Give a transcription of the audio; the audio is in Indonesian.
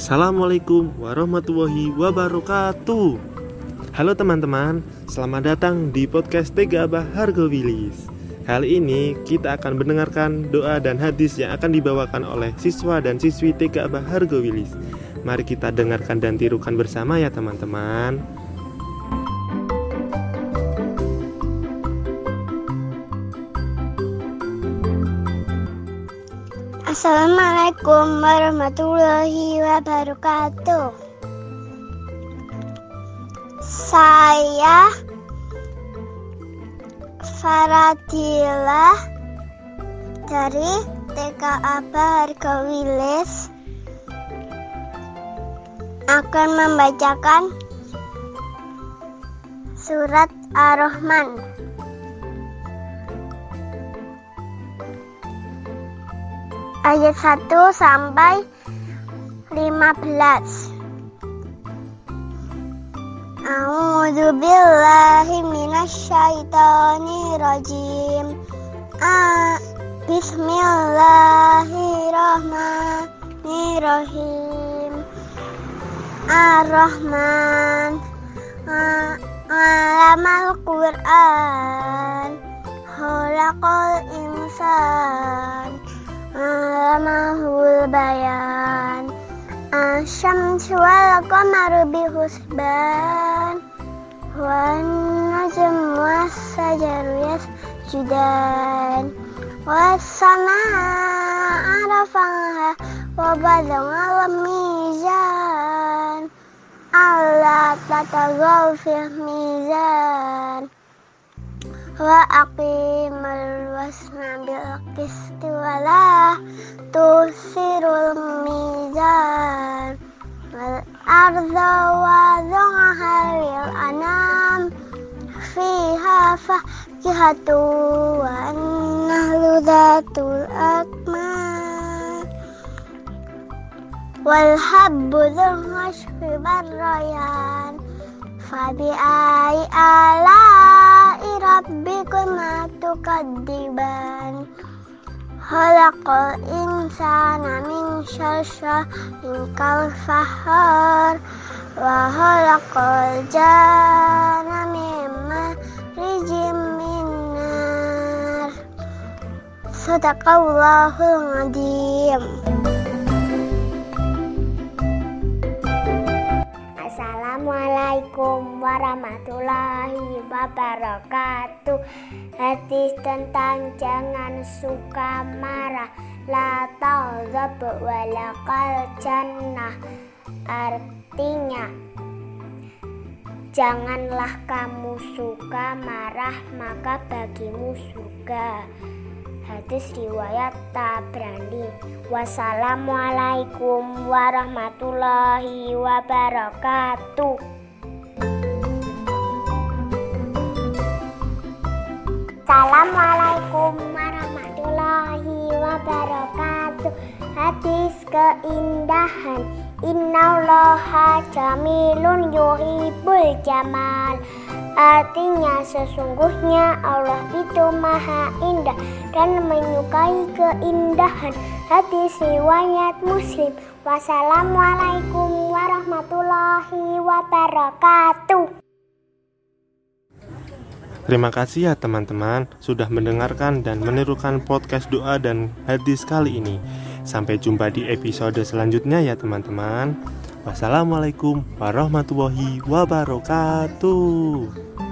Assalamualaikum warahmatullahi wabarakatuh. Halo teman-teman, selamat datang di podcast Tega Abah Hargo Wilis. Kali ini kita akan mendengarkan doa dan hadis yang akan dibawakan oleh siswa dan siswi Tega Abah Hargo Wilis. Mari kita dengarkan dan tirukan bersama ya teman-teman. Assalamualaikum warahmatullahi wabarakatuh. Saya Faradila dari TK Abah Hargo Wilis akan membacakan surat Ar-Rahman. Ayat 1 sampai 15. A'udzu billahi minasy syaithanir rajim. Bismillahirrahmanirrahim. Ar-Rahman 'allamal Qur'an. Khalaqal insan. 'allamahul bayan. Asy-syamsu wal qamaru bihusban. Wan najmu was-sajaru yasjudan. Was-samaa'a rafa'aha wa wada'al mizan. Alla tataghaw fil mizan. Wa aqimul wasna bil qisti wa la tusirul mizan. Wal arda wada'aha lil anam. Fiha fakihatu wa nahlu dhatul akmal. Wal habbu dzul ashfi barrayan. Fabi'ai ala'i rabbikuma tukadziban. Khalaqal insana min syalsalin kalfahar. Wa khalaqal janna min marijim min nar. Shadaqallahul adzim. Assalamualaikum warahmatullahi wabarakatuh. Hadis tentang jangan suka marah. La taghdab walakal jannah. Artinya, janganlah kamu suka marah, maka bagimu surga. Hadis riwayat Tabrani. Wassalamualaikum warahmatullahi wabarakatuh. Assalamualaikum warahmatullahi wabarakatuh. Hadis keindahan. Innallaha jamilun yuhibbul jamal. Artinya sesungguhnya Allah itu maha indah dan menyukai keindahan. Hadis riwayat Muslim. Wassalamualaikum warahmatullahi wabarakatuh. Terima kasih ya teman-teman sudah mendengarkan dan menirukan podcast doa dan hadis kali ini. Sampai jumpa di episode selanjutnya ya teman-teman. Wassalamualaikum warahmatullahi wabarakatuh.